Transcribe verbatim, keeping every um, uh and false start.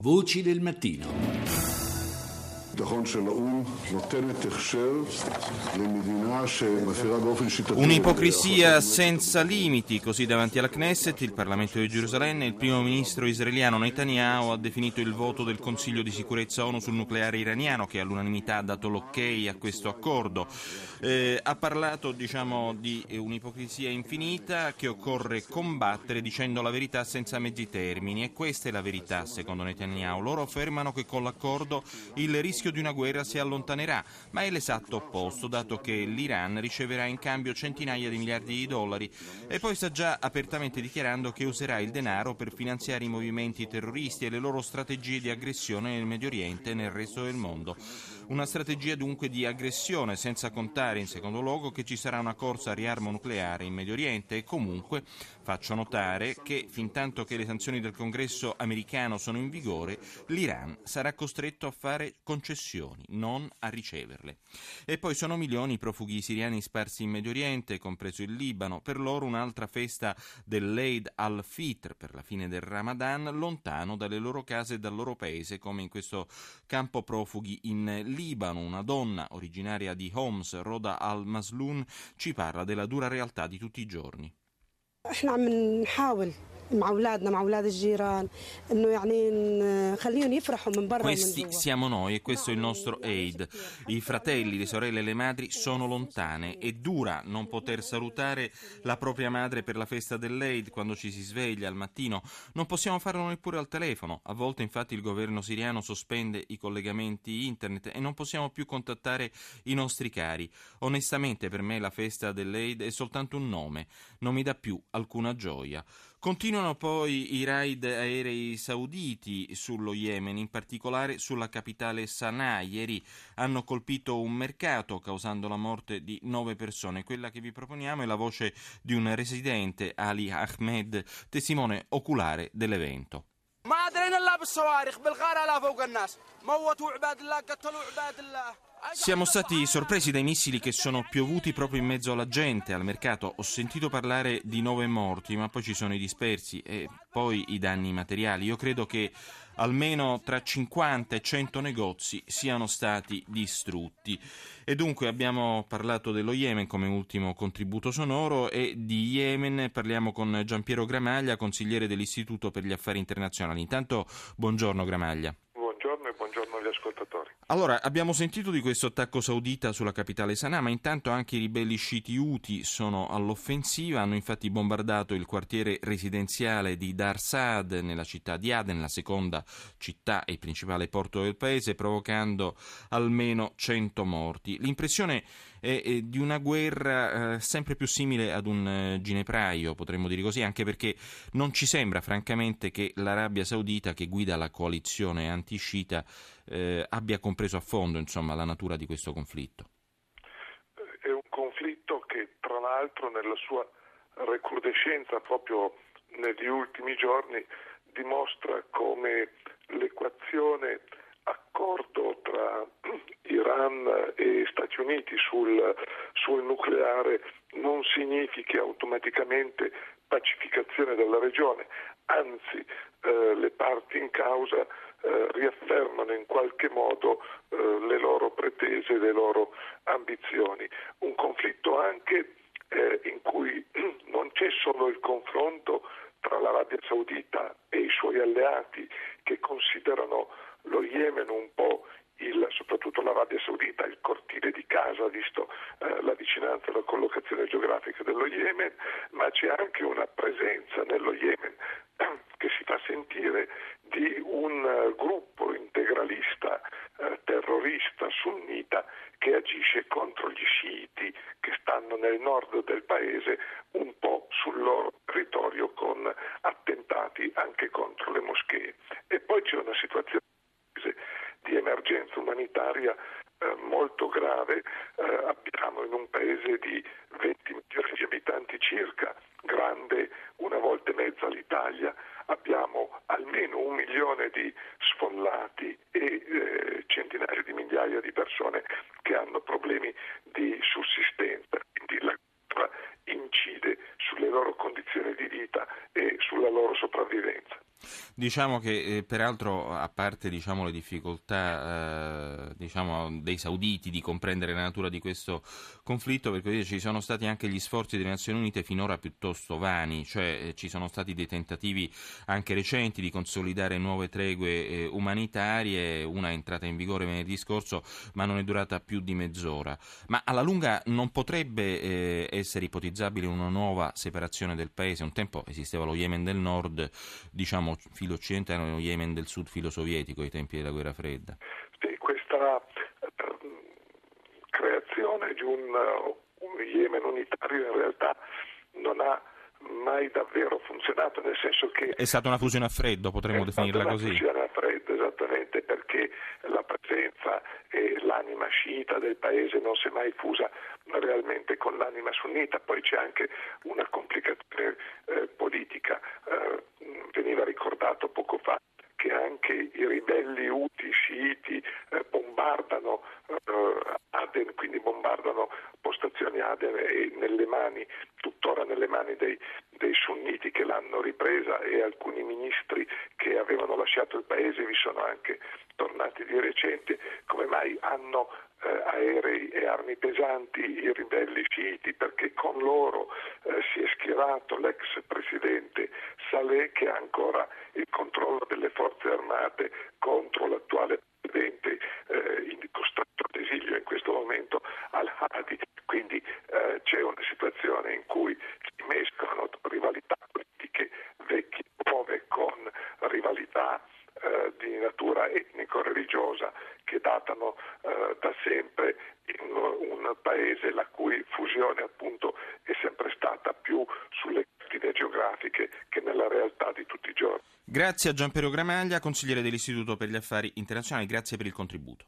Voci del mattino. Un'ipocrisia senza limiti, così davanti alla Knesset, il Parlamento di Gerusalemme, il primo ministro israeliano Netanyahu ha definito il voto del Consiglio di sicurezza ONU sul nucleare iraniano, che all'unanimità ha dato l'ok a questo accordo. Eh, ha parlato, diciamo, di un'ipocrisia infinita che occorre combattere dicendo la verità senza mezzi termini, e questa è la verità secondo Netanyahu. Loro affermano che con l'accordo il rischio di una guerra si allontanerà, ma è l'esatto opposto, dato che l'Iran riceverà in cambio centinaia di miliardi di dollari, e poi sta già apertamente dichiarando che userà il denaro per finanziare i movimenti terroristi e le loro strategie di aggressione nel Medio Oriente e nel resto del mondo. Una strategia dunque di aggressione, senza contare in secondo luogo che ci sarà una corsa a riarmo nucleare in Medio Oriente, e comunque faccio notare che fintanto che le sanzioni del Congresso americano sono in vigore, l'Iran sarà costretto a fare concessioni, non a riceverle. E poi sono milioni i profughi siriani sparsi in Medio Oriente, compreso il Libano. Per loro un'altra festa dell'Eid al-Fitr, per la fine del Ramadan, lontano dalle loro case e dal loro paese, come in questo campo profughi in Libano. Una donna originaria di Homs, Roda al-Masloun, ci parla della dura realtà di tutti i giorni. احنا عم نحاول مع اولادنا مع اولاد الجيران انه يعني نخليهم يفرحوا من برا ومن Questi جوا. siamo noi e questo è il nostro Eid. I fratelli, le sorelle e le madri sono lontane. È dura non poter salutare la propria madre per la festa dell'Eid quando ci si sveglia al mattino. Non possiamo farlo neppure al telefono. A volte infatti il governo siriano sospende i collegamenti internet e non possiamo più contattare i nostri cari. Onestamente per me la festa dell'Eid è soltanto un nome, non mi dà più alcuna gioia. Continuano poi i raid aerei sauditi sullo Yemen, in particolare sulla capitale Sana'a. Ieri hanno colpito un mercato causando la morte di nove persone. Quella che vi proponiamo è la voce di un residente, Ali Ahmed, testimone oculare dell'evento. ما درينا الا بالصواريخ بالغاره لا فوق الناس موتوا عباد الله قتلوا عباد الله. Siamo stati sorpresi dai missili che sono piovuti proprio in mezzo alla gente, al mercato. Ho sentito parlare di nove morti, ma poi ci sono i dispersi e poi i danni materiali. Io credo che almeno tra cinquanta e cento negozi siano stati distrutti. E dunque abbiamo parlato dello Yemen come ultimo contributo sonoro, e di Yemen parliamo con Giampiero Gramaglia, consigliere dell'Istituto per gli Affari Internazionali. Intanto, buongiorno Gramaglia. Buongiorno e buongiorno agli ascoltatori. Allora, abbiamo sentito di questo attacco saudita sulla capitale Sana'a, ma intanto anche i ribelli sciiti Houthi sono all'offensiva. Hanno infatti bombardato il quartiere residenziale di Dar Saad nella città di Aden, la seconda città e il principale porto del paese, provocando almeno cento morti. L'impressione è, è di una guerra eh, sempre più simile ad un eh, ginepraio, potremmo dire così, anche perché non ci sembra francamente che l'Arabia Saudita, che guida la coalizione anti-sciita, eh, abbia compreso a fondo, insomma, la natura di questo conflitto. È un conflitto che, tra l'altro, nella sua recrudescenza proprio negli ultimi giorni dimostra come l'equazione accordo tra Iran e Stati Uniti sul, sul nucleare non significhi automaticamente pacificazione della regione, anzi eh, le parti in causa eh, riaffermano in qualche modo eh, le loro pretese, le loro ambizioni. Un conflitto anche eh, in cui non c'è solo il confronto tra l'Arabia Saudita e i suoi alleati, che considerano lo Yemen un po' il, soprattutto l'Arabia Saudita, il cortile di casa, visto eh, la vicinanza e la collocazione geografica dello Yemen, ma c'è anche una presenza nello Yemen eh, che si fa sentire di un uh, gruppo integralista uh, terrorista sunnita che agisce contro gli sciiti che stanno nel nord del paese, un po' sul loro territorio, con attentati anche contro le moschee. E poi c'è una situazione di emergenza umanitaria eh, molto grave. Eh, abbiamo in un paese di venti milioni di abitanti circa, grande una volta e mezza l'Italia, abbiamo almeno un milione di sfollati e eh, centinaia di migliaia di persone che hanno problemi di sussistenza, quindi la guerra incide sulle loro condizioni di vita e sulla loro sopravvivenza. Diciamo che eh, peraltro, a parte diciamo, le difficoltà eh, diciamo, dei sauditi di comprendere la natura di questo conflitto, per così dire, ci sono stati anche gli sforzi delle Nazioni Unite finora piuttosto vani, cioè eh, ci sono stati dei tentativi anche recenti di consolidare nuove tregue eh, umanitarie, una è entrata in vigore venerdì scorso ma non è durata più di mezz'ora. Ma alla lunga non potrebbe eh, essere ipotizzabile una nuova separazione del paese? Un tempo esisteva lo Yemen del Nord, diciamo filo occidentale, e lo Yemen del Sud filo sovietico ai tempi della guerra fredda. Sì, questa eh, creazione di un, uh, un Yemen unitario in realtà non ha mai davvero funzionato, nel senso che è stata una fusione a freddo, potremmo definirla così. È stata una fusione a freddo, esattamente, perché la presenza e l'anima sciita del paese non si è mai fusa realmente con l'anima sunnita. Poi c'è anche una complicazione eh, politica. Eh, veniva ricordato poco fa che anche i ribelli Houthi sciiti eh, bombardano eh, Aden, quindi bombardano postazioni Aden e nelle mani, tuttora nelle mani dei, dei sunniti che l'hanno ripresa, e alcuni ministri che avevano lasciato il paese vi sono anche tornati di recente. Come mai hanno eh, aerei e armi pesanti i ribelli sciiti? Perché con loro eh, si è schierato l'ex presidente Saleh, che ha ancora il controllo delle forze armate contro l'attuale presidente eh, in costretto ad esilio in questo momento, Al-Hadi. Quindi eh, c'è una situazione in cui si mescolano rivalità politiche vecchie e nuove con rivalità eh, di natura etnico-religiosa che datano eh, da sempre in un paese la cui fusione appunto è sempre stata più sulle cartine geografiche che nella realtà di tutti i giorni. Grazie a Gianpiero Gramaglia, consigliere dell'Istituto per gli Affari Internazionali, grazie per il contributo.